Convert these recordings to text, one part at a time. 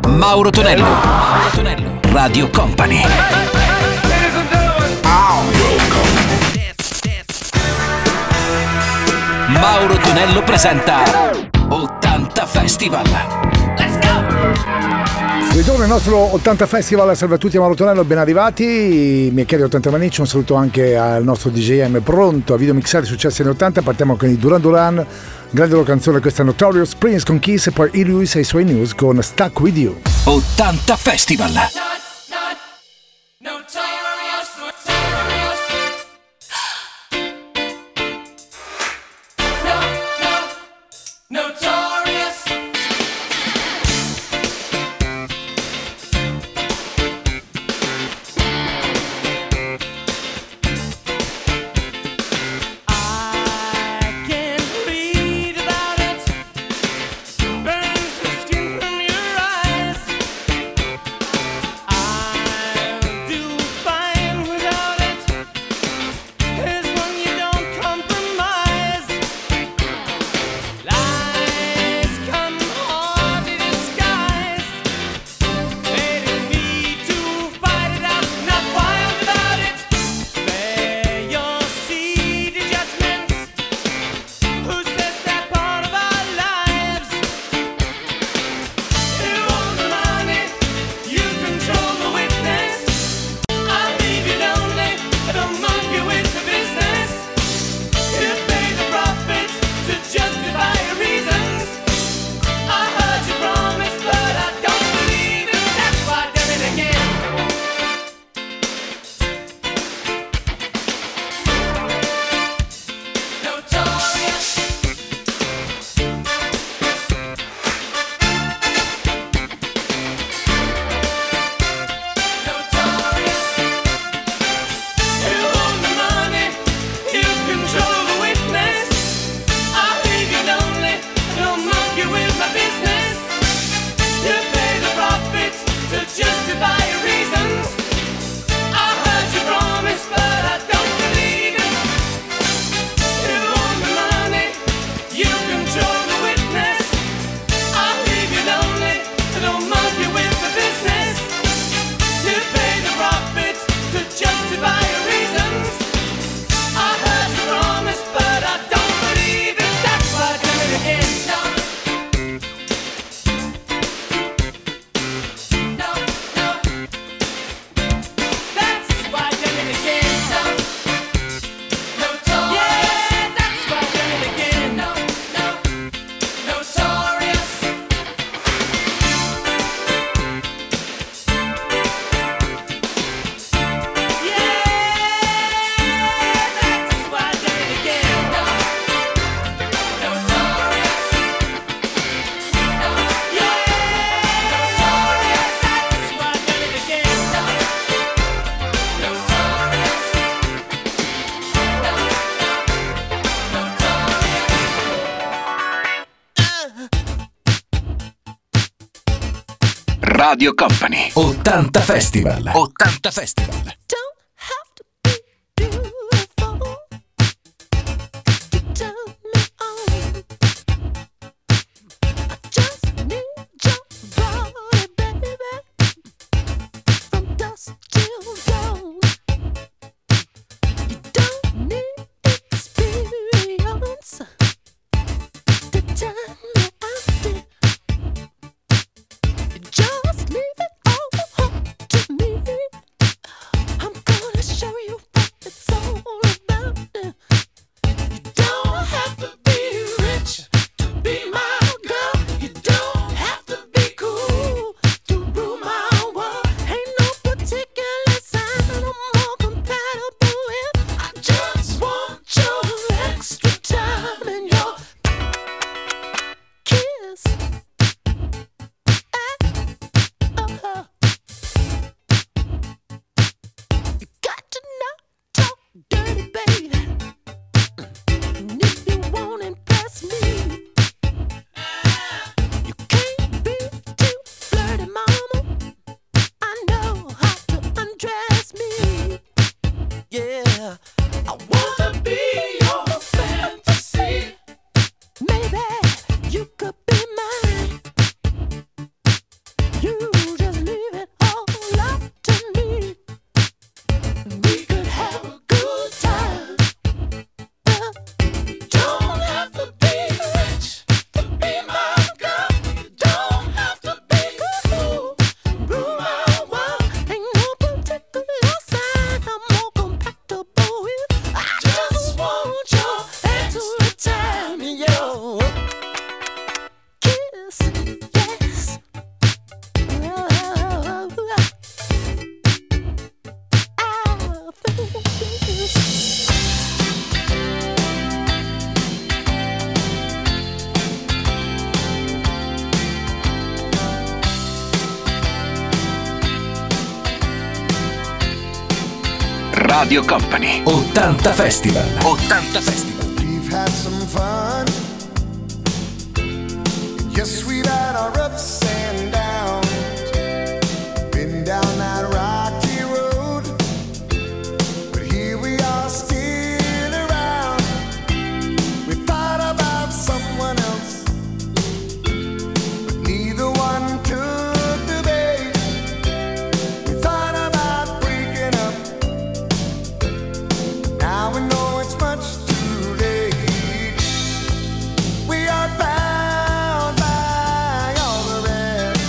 Mauro Tonello. Mauro Tonello. Radio Company. Mauro Tonello presenta 80 Festival. Let's go! Ritorno al nostro 80 Festival. Salve a tutti, Mauro Tonello, ben arrivati. Michele 80 Manicci, un saluto anche al nostro DJM pronto a videomixare i successi anni 80. Partiamo con i Duran Duran, grande loro canzone, questa è Notorious, Prince con Kiss e poi E. Lewis e i suoi News con Stuck With You. 80 Festival. Radio Company 80 Festival. 80 Festival. Just leave it all up to me. I'm Radio Company 80 Festival. 80 Festival. We've had some fun. Yes, we've had our ups and downs. Been down that rocky road, but here we are still around. We thought about someone else, but neither one took the bait. We thought about breaking up. Now we know it's much too late. We are bound by all the rest,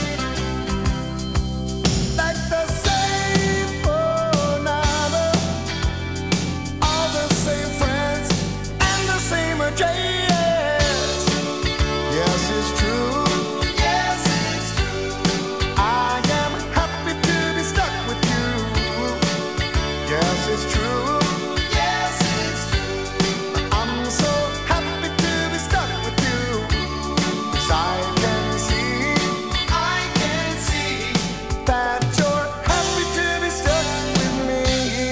like the same phone number, all the same friends, and the same address. Yes, it's true. Yes, it's true. I am happy to be stuck with you. Yes, it's true. Yes, it's true. I'm so happy to be stuck with you. 'Cause I can see that you're happy to be stuck with me.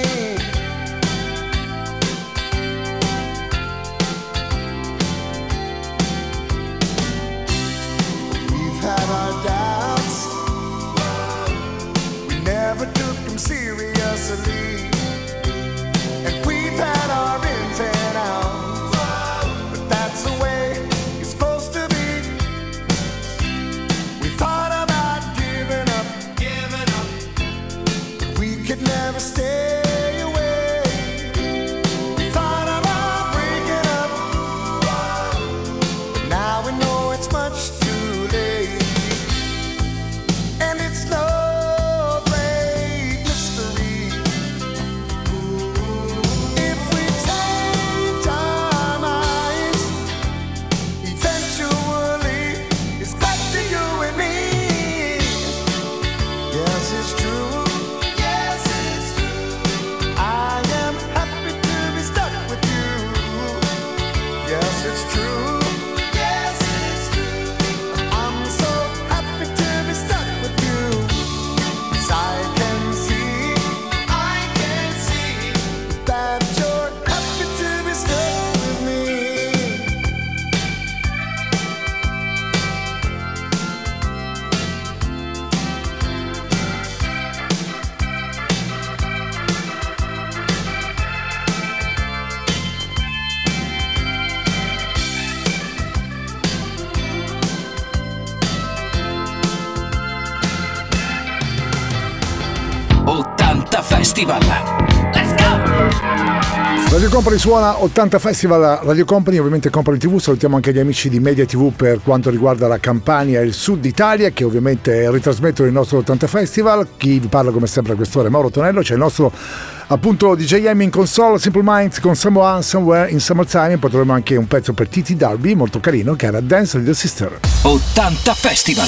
We've had our doubts, we never took them seriously. And we've had our ins and outs, but that's the way it's supposed to be. We thought about giving up, but we could never stay away. We thought about breaking up, but now we know it's much too late. And it's no great mystery. If we change our minds, eventually it's back to you and me. Yes, it's true. Yes, it's true. I am happy to be stuck with you. Yes, it's true. Yes, it's true. I'm so happy to be stuck with you. 'Cause I can see that you're happy to be stuck with me. Festival. Radio Company suona 80 Festival, Radio Company, ovviamente Company TV. Salutiamo anche gli amici di Media TV per quanto riguarda la Campania e il Sud Italia, che ovviamente ritrasmettono il nostro 80 Festival. Chi vi parla come sempre a quest'ora è Mauro Tonello. C'è il nostro appunto DJM in console, Simple Minds con Someone Somewhere in Summertime. Poi troviamo anche un pezzo per Titi Darby molto carino, che era Dance Little Sister. 80 Festival.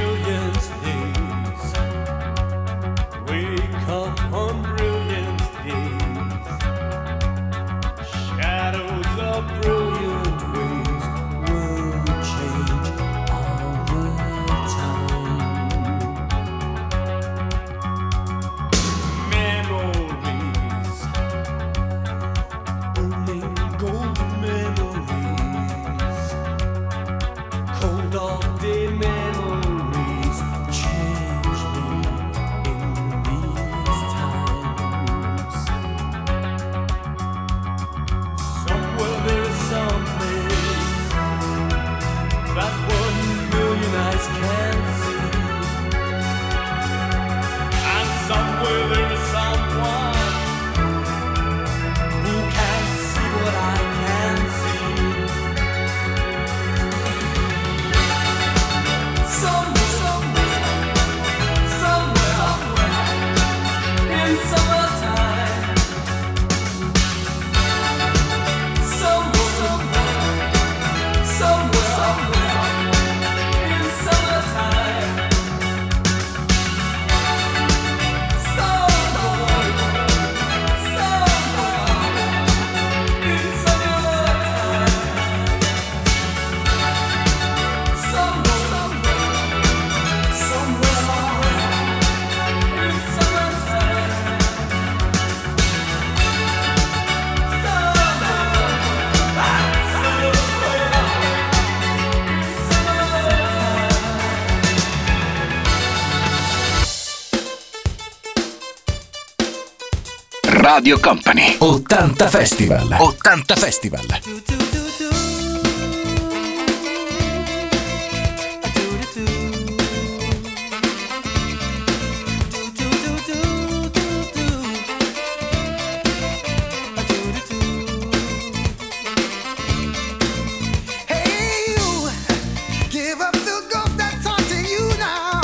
Wake up on brilliant days. Radio Company 80 Festival. 80 Festival. Hey, you, give up the ghost that's haunting you now.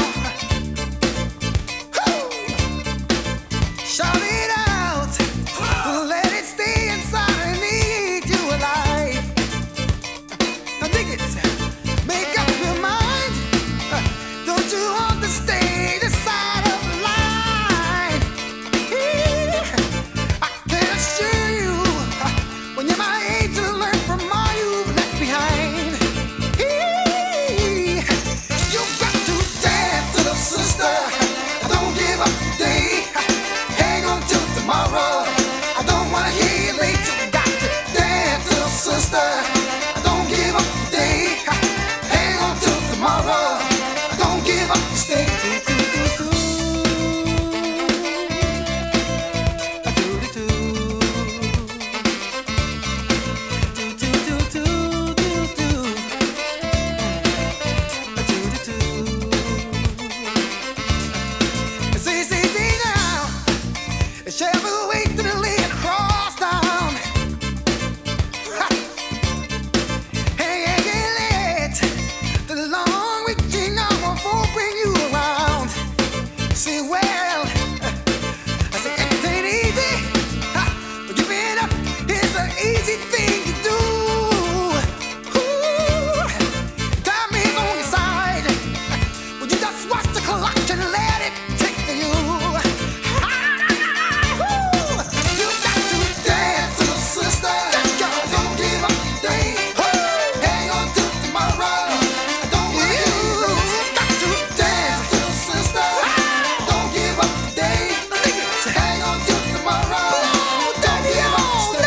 Shout it out, let it stay inside and eat you alive. Now dig it, make up your mind. Don't you want to stay this side of the line? I can assure you, when you're my age, you'll learn from all you've left behind. You've got to dance, little sister. Don't give up today. Hang on till tomorrow. I don't wanna hear you late. You got to dance, little sister. Don't give up today. Hang on till tomorrow. Don't give up, stay. See now, shall we wait till the lane cross down? Hey, late, the long reaching arm won't bring you around. See, well, I say it ain't easy, but giving up is an easy thing to do. Ooh, time is on your side. Would you just watch the clock and let it take for you? You got to dance, little sister. Don't give up today. Hang on till tomorrow. Don't wanna hear you lose. You got to dance, little sister. Don't give up today. Hang on till tomorrow. Don't give up, stay.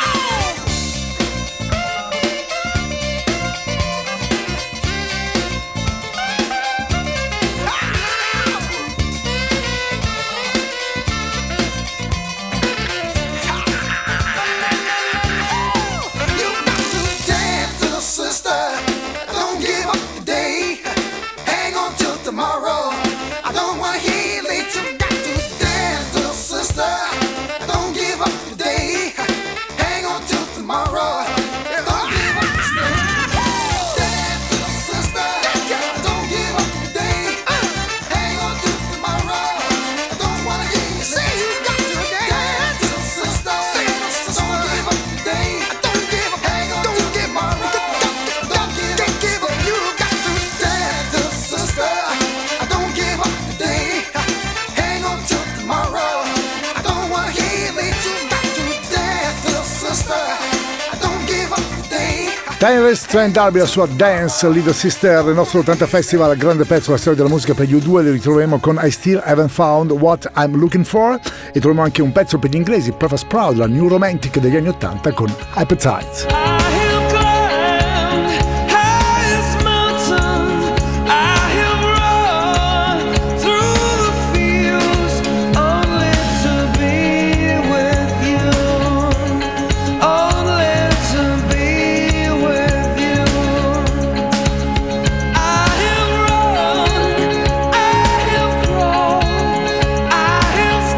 You got to dance, little sister. Don't give up today. Hang on till tomorrow. I don't wanna hear you late. You got to dance, little sister. Don't give up today. Hang on till tomorrow. Don't give up, stay. Dance, little sister. Don't give up today. Hang on till tomorrow. I don't wanna hear you say you got to dance, little sister. Don't give up today. Don't give up. Hang on till tomorrow. Don't give up. You got to dance, little sister. Don't give up today. Hang on till tomorrow. I don't wanna hear you late. You got to dance, little sister. Don't give up today. Tyrese Trent D'Arby, la sua Dance, Little Sister, il nostro 80 Festival, grande pezzo della storia della musica per gli U2, li ritroveremo con I Still Haven't Found What I'm Looking For e troviamo anche un pezzo per gli inglesi, Perfect Proud, la New Romantic degli anni 80 con Appetite.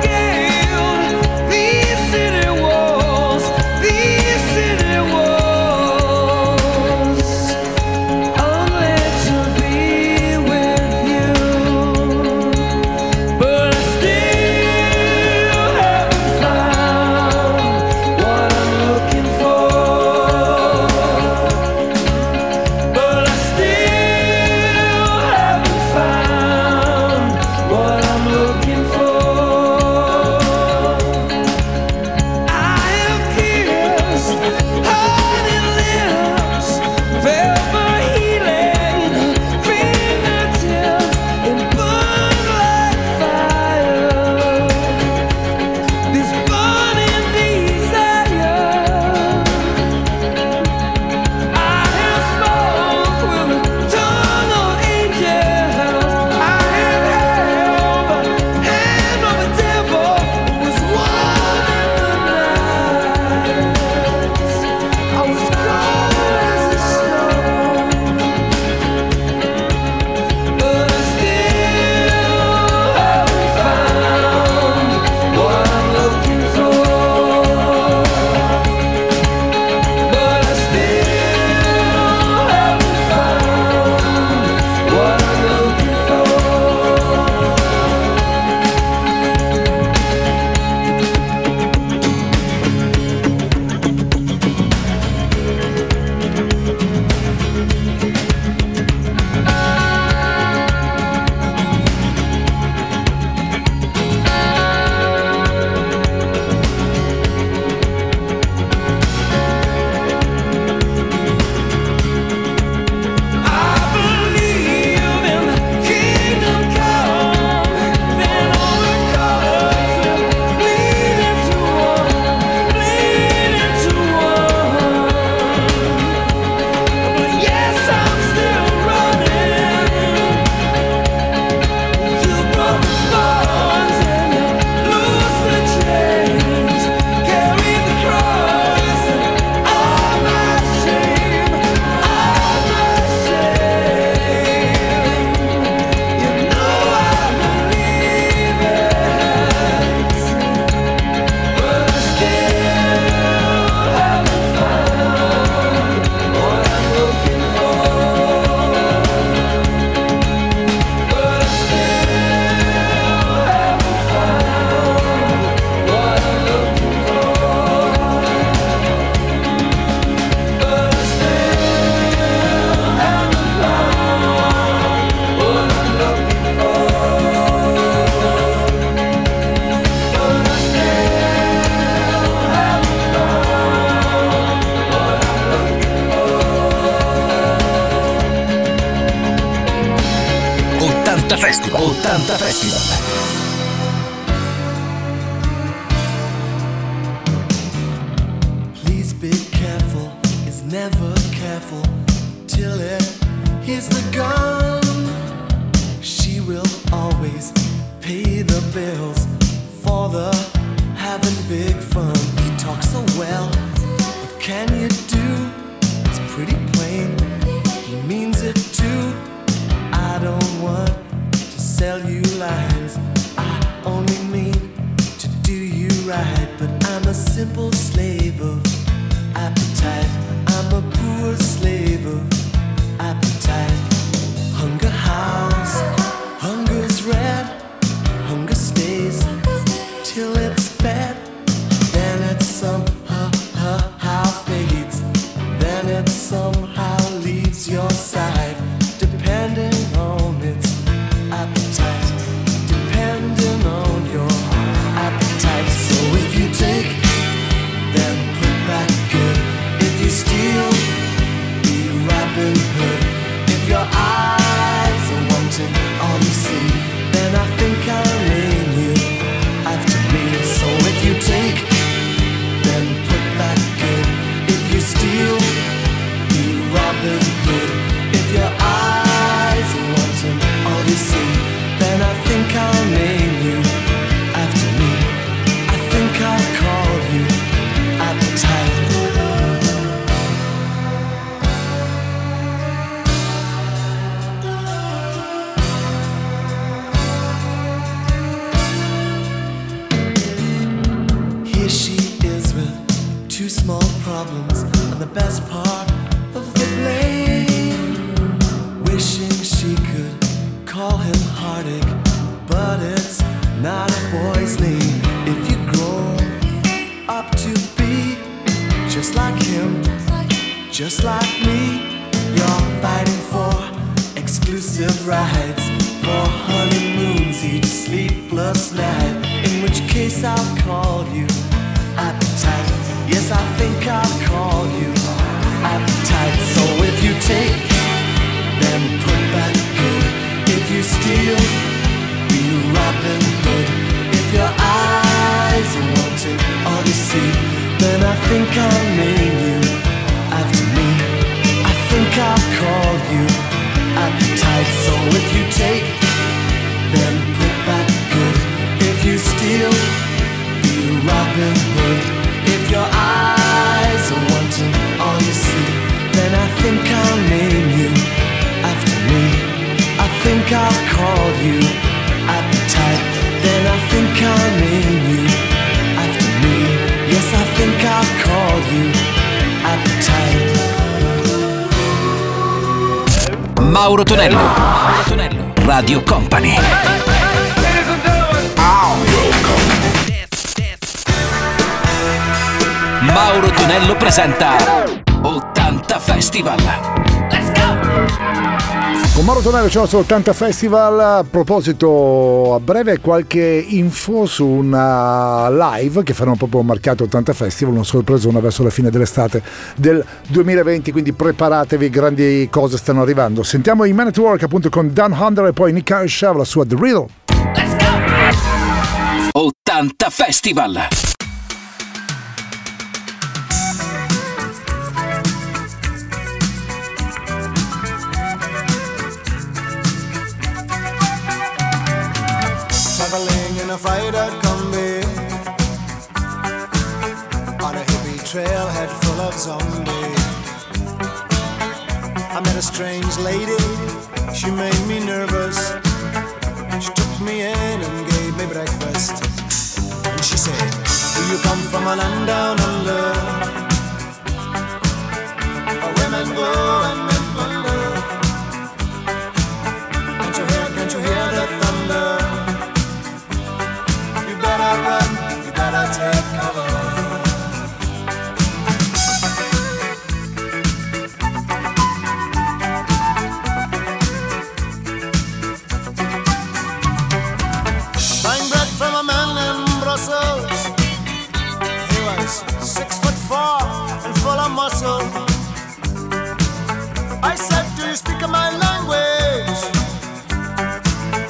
These city walls, these city walls. 80 Festival. 80 Festival. Please be careful, is never careful till it hits the gun. She will always pay the bills for the having big fun. He talks so well, what can you do? It's pretty plain, he means it too. I don't want to sell you lines, I only mean to do you right. But I'm a simple slave of appetite, I'm a poor slave of appetite. Hunger howls, hunger's red, hunger stays till it's fed. Then it somehow fades, then it somehow leaves your side. Depending on its appetite, depending on your appetite. So if you take, then put back good. If you steal, be Robin Hood. If your eyes are wanting all you see, then I think I'll name you after me. So if you take, then put back good. If you steal, be Robin Hood. If your eyes are wanting all you see, then I think I'll name you after me. I think I'll call you appetite. Here she is with two small problems and the best part of the blame. Wishing she could call him heartache, but it's not a boy's name. If you grow up to be just like him, just like me, you're fighting for exclusive rights, for honeymoons each sleepless night. In which case I'll call you appetite. Yes, I think I'll call you appetite. So if you take, then put back good. If you steal, be Robin Hood. If your eyes are wanting all you see, then I think I'll name you after me. I think I'll call you appetite. So if you take, then put back good. If you steal, be Robin Hood. If your eyes are wanting all you see, then I think I'll name you after me. I think I'll call you appetite. Then I think I'll name you after me. Yes, I think I'll call you appetite. Mauro Tonello. Mauro Tonello. Radio Company. Mauro Tonello presenta 80 Festival. Let's go! Con Mauro Tonello c'è il nostro 80 Festival. A proposito, a breve qualche info su una live che faremo proprio marchiato 80 Festival, una sorpresona verso la fine dell'estate del 2020, quindi preparatevi, grandi cose stanno arrivando. Sentiamo i Man at Work appunto con Dan Hunter e poi Nick Kershaw, la sua The Riddle. Let's go! 80 Festival. Traveling in a freighter combi on a hippie trailhead full of zombies. I met a strange lady, she made me nervous. She took me in and gave me breakfast. And she said, do you come from a land down under, where women go and men plunder? Can't you hear the thunder? You better run, you better take cover. Buying bread from a man in Brussels. He was 6'4" and full of muscle. I said, do you speak my language?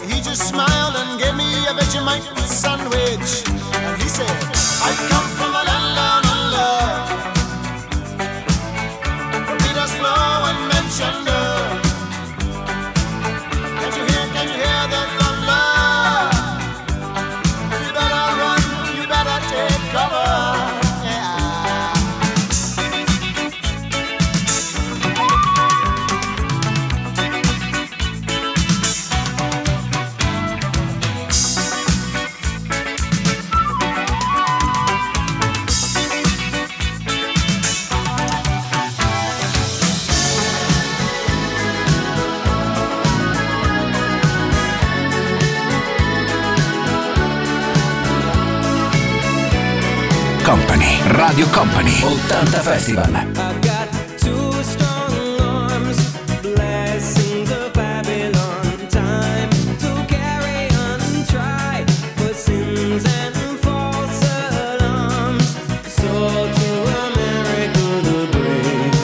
Radio Company 80 Festival. I got two strong arms, blessings of Babylon. Time to carry on and try for sins and false alarms. So to America the brave,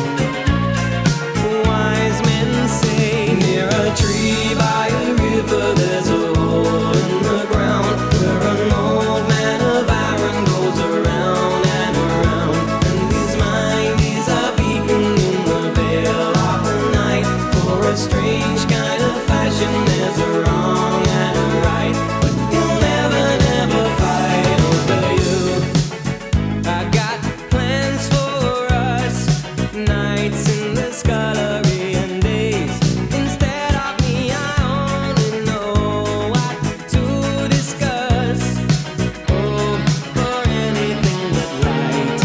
wise men say, near a tree by a river there's a hole in the ground where an old man of iron goes around and around. And his mind is a beacon in the veil of the night. For a strange kind of fashion there's a wrong and a right, but he'll never, never fight over you. I got plans for us, nights in the scullery and days. Instead of me, I only know what to discuss. Oh, for anything but light.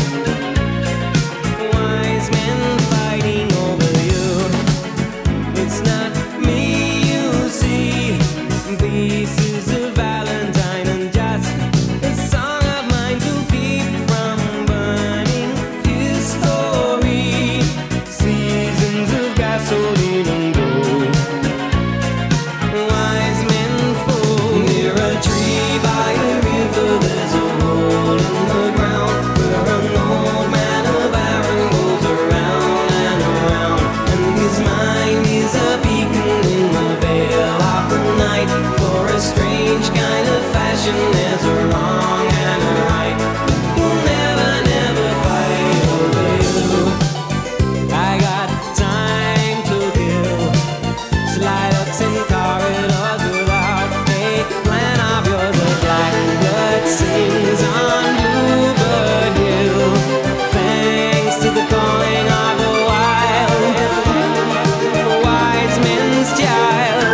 Wise men fighting over you. It's not me you see. This is a valentine and just a song of mine to keep from burning history. Seasons of gasoline and gold. Wise men fall near a tree by a river. There's a hole in the ground where an old man of iron goes around and around. And his mind is a beacon in the veil of the night. For a strange kind of fashion, there's a wrong and a right. He'll never, never fight over you. I got time to kill. Slide ups in corridors without a plan of yours. A blackbird sings on Bluebird Hill. Thanks to the calling of the wild, wise men's child.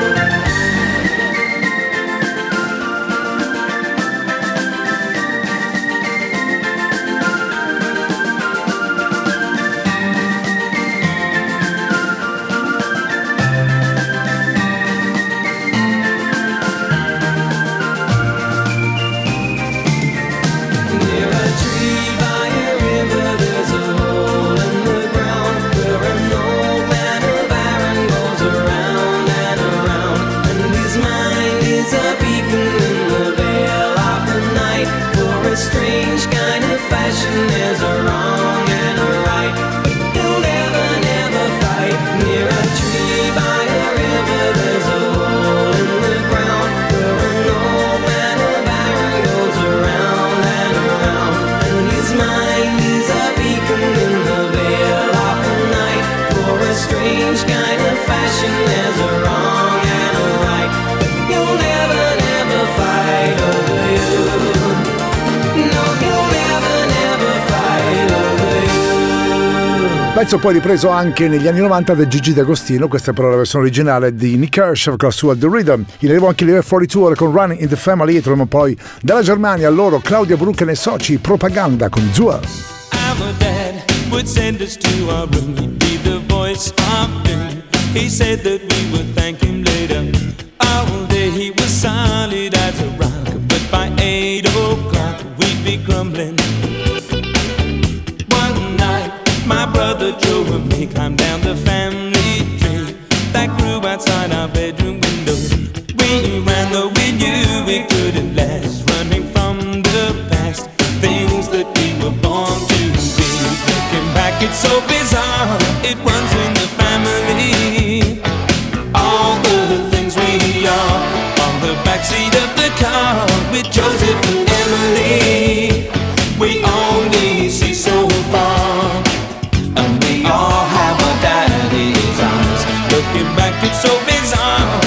Near a tree by a river, there's a hole in the ground where an old man of iron goes around and around. And his mind is a beacon in the veil of the night. For a strange kind of fashion, there's a wrong and a right, but he'll never, never fight. Near a tree by a river, there's a hole in the ground where an old man of iron goes around and around. And his mind is a beacon in the veil of the night. For a strange kind of fashion, there's a wrong and a right, but he'll never, never fight over you. No, he'll never, never fight over you. Pezzo poi ripreso anche negli anni 90 da Gigi D'Agostino, questa però è la versione originale di Nick Kershaw con la sua The Rhythm. In arrivo anche Level 42 ora con Running in the Family e troviamo poi dalla Germania loro Claudia Brucken e soci Propaganda con Zua. Our dad would send us to our room. He'd be the voice of doom. He said that we would thank him later. All day he was solid as a rock, but by 8 o'clock we'd be crumbling. One night my brother Joe and me climbed down the family tree that grew outside our bedroom window. We ran though we knew we couldn't last, running from the past, things that we were born to be. Looking back, it's so bizarre, it runs in the family. All the things we are on the backseat of the car with Joseph and Emily. We only see so far, and we all have our daddy's eyes. Looking back, it's so bizarre.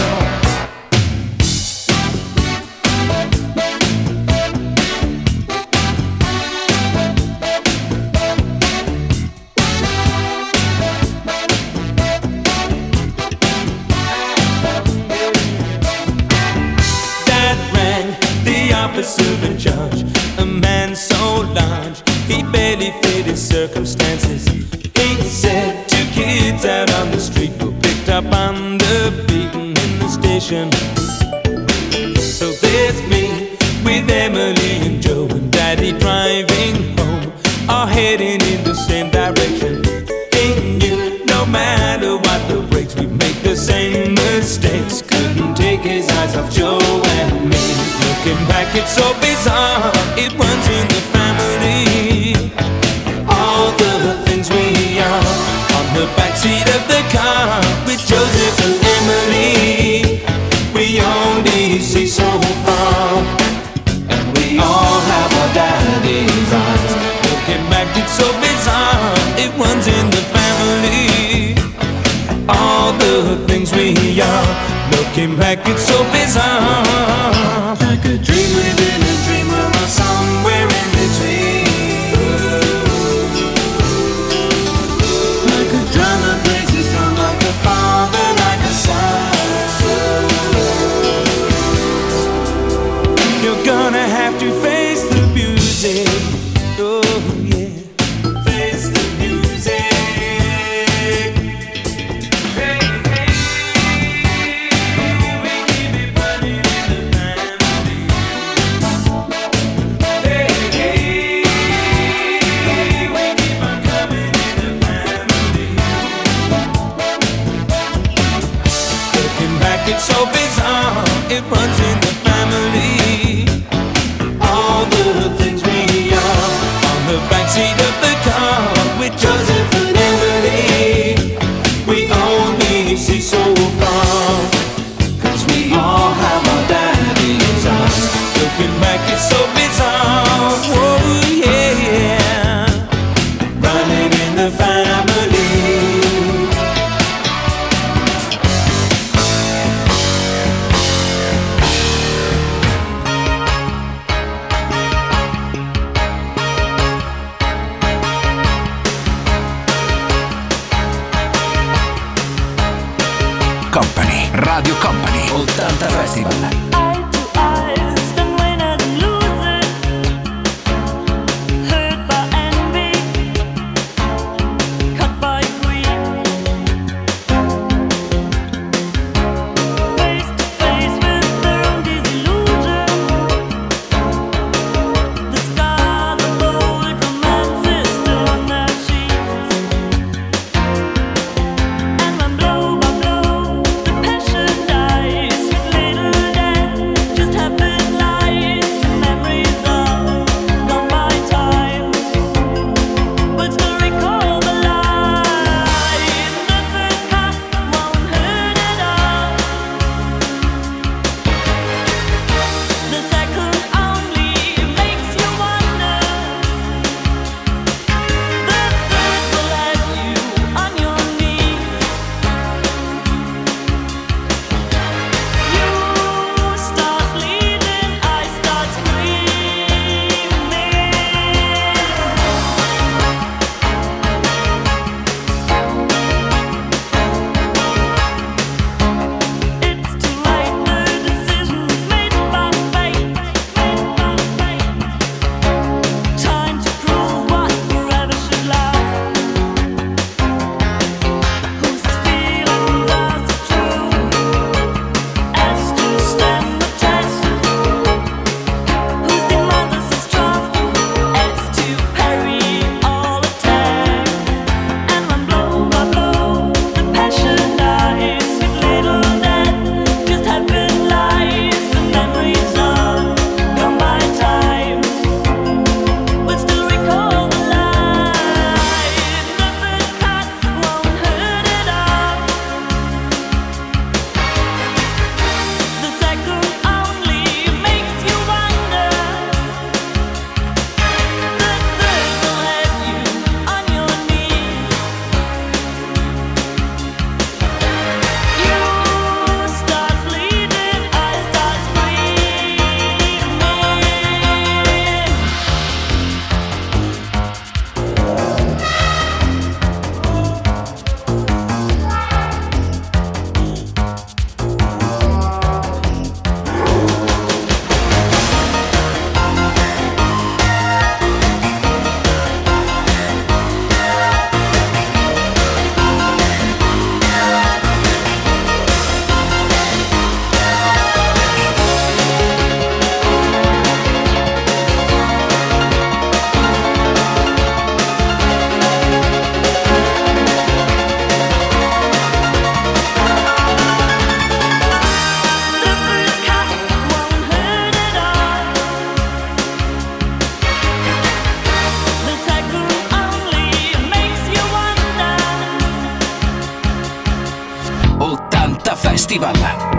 Officer in charge, a man so large he barely fit his circumstances. He said 2 kids out on the street were picked up on the beaten in the station. So there's me with Emily and Joe and Daddy driving home. are heading in the same direction. And you, no matter what the breaks, we make the same mistakes. Couldn't take his eyes off Joe and me. Looking back, it's so bizarre. It runs in the family. All the things we are on the backseat of the car with Joseph and Emily. We only see so far, and we all have our daddy's eyes. Looking back, it's so bizarre. It runs in the family. All the things we are. Looking back, it's so bizarre. Like a dream within a dream, or somewhere in between. Like a drum that plays his drum, like a father, like a son. You're gonna have to face the music. Oh yeah, face the music. Hey, hey, we keep it running in the family. Hey, hey, we keep on coming in the family. Looking back, it's so bizarre. It runs in the family. All the things we are on the backseat of the car with Joseph and Emily. We only see so far, 'cause we all have our daddy's eyes. Looking back, it's so bizarre. Oh yeah, running in the family. Company, Radio Company, 80 Festival. Eye to eyes, then winners and losers, hurt by envy, cut by greed. Face to face with their own disillusion, the scars of old romances still on their sheets. And when blow by blow the passion dies with little death, Festival.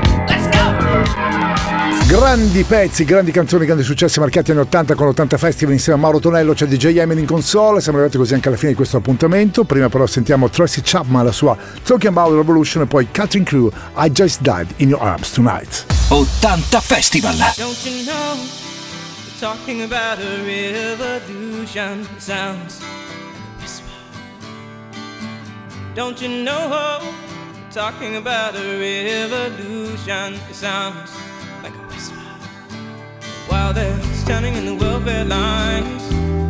Grandi pezzi, grandi canzoni, grandi successi marcati anni 80 con l'80 Festival insieme a Mauro Tonello, c'è DJ Emin in console. Siamo arrivati così anche alla fine di questo appuntamento. Prima però sentiamo Tracy Chapman, la sua Talking About Revolution, e poi Catherine Crew, I Just Died in Your Arms Tonight. 80 Festival. Don't you know, we're talking about a revolution. Sounds like a whisper. Don't you know, we're talking about a revolution. It sounds like a whisper. While they're standing in the welfare lines,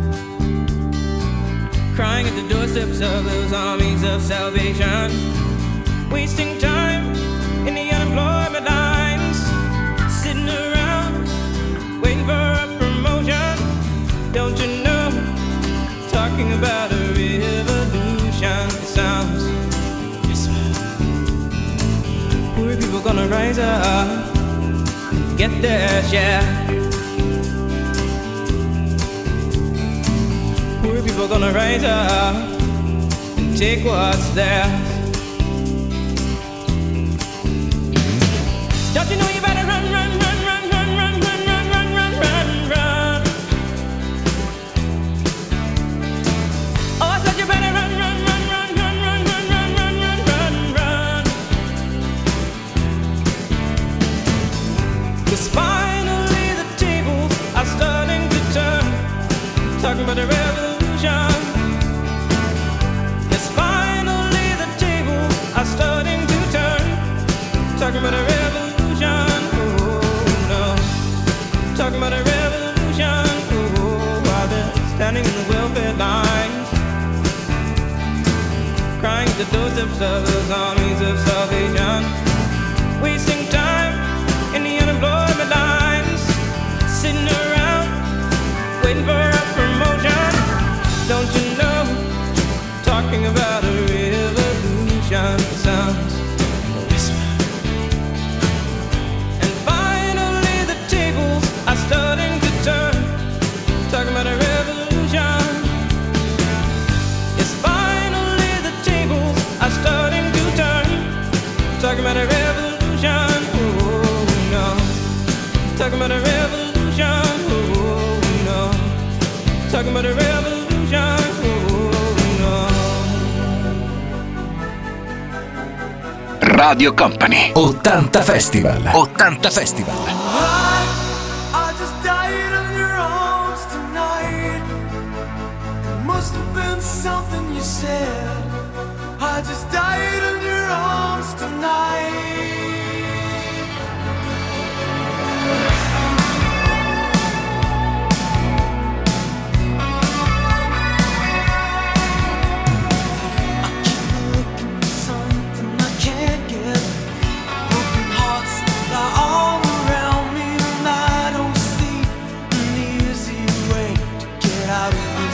crying at the doorsteps of those armies of salvation, wasting time in the unemployment lines, sitting around waiting for a promotion. Don't you know, talking about a revolution. It sounds like a whisper. Poor people gonna rise up and get their share. Poor people gonna rise up and take what's theirs. Don't you know you better run, run, run, run, run, run, run, run, run, run, run, run. Oh, I said you better run, run, run, run, run, run, run, run, run, run, run, run. 'Cause finally the tables are starting to turn. Talking about the revolution. Yes, finally the tables are starting to turn. Talking about a revolution, oh no. Talking about a revolution, oh, while they're standing in the welfare lines, crying at the doorsteps of those armies of salvation, wasting time in the unemployment lines, sitting around waiting for a promotion. Don't you know, talking about a revolution sounds like a whisper. And finally the tables are starting to turn. Talking about a revolution. Yes, finally the tables are starting to turn. Talking about a revolution, oh no. Talking about a revolution, oh no. Talking about a revolution, oh no. Radio Company 80 Festival. 80 Festival. I just died in your arms tonight. It must have been something you said. I just died in your arms tonight. Something I can't get. Broken hearts lie all around me, and I don't see an easy way to get out of this.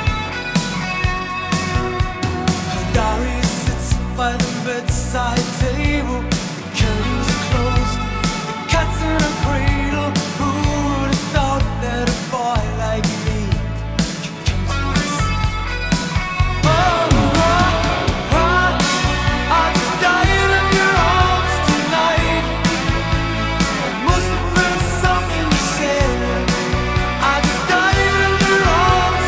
Her diary sits by the bedside table. The curtains are closed. The cat's in a cradle. Who would have thought that a boy like me could come to this? I just died in your arms tonight. It must have been something you said. I just died in your arms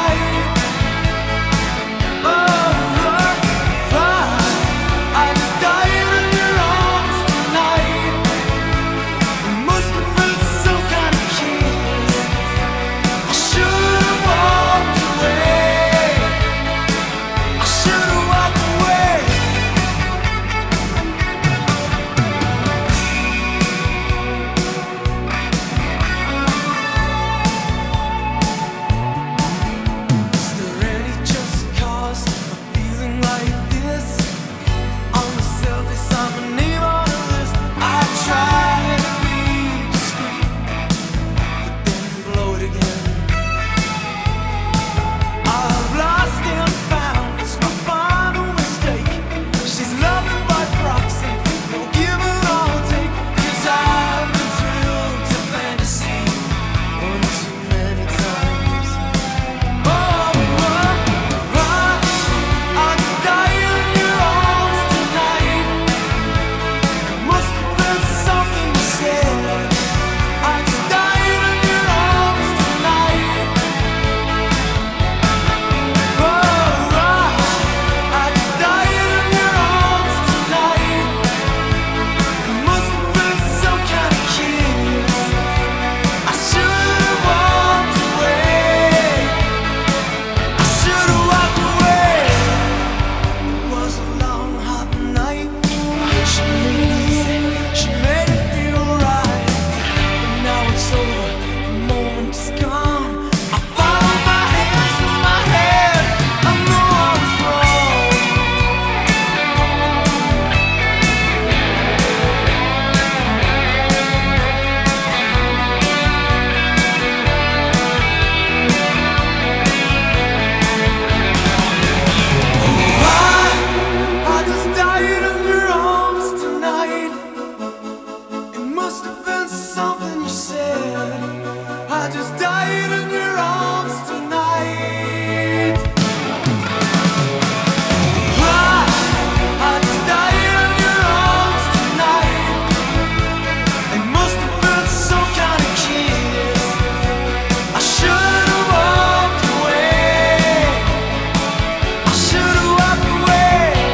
tonight. I just died.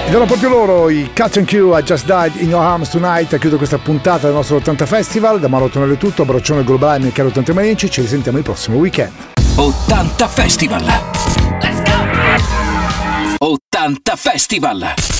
Ed erano proprio loro, i Cat and Q, I Just Died in Your Arms Tonight. Chiudo questa puntata del nostro 80 Festival. Da Mauro Tonello è tutto, abbraccione globale, miei cari 80 manici. Ci risentiamo il prossimo weekend. 80 Festival! Let's go! 80 Festival!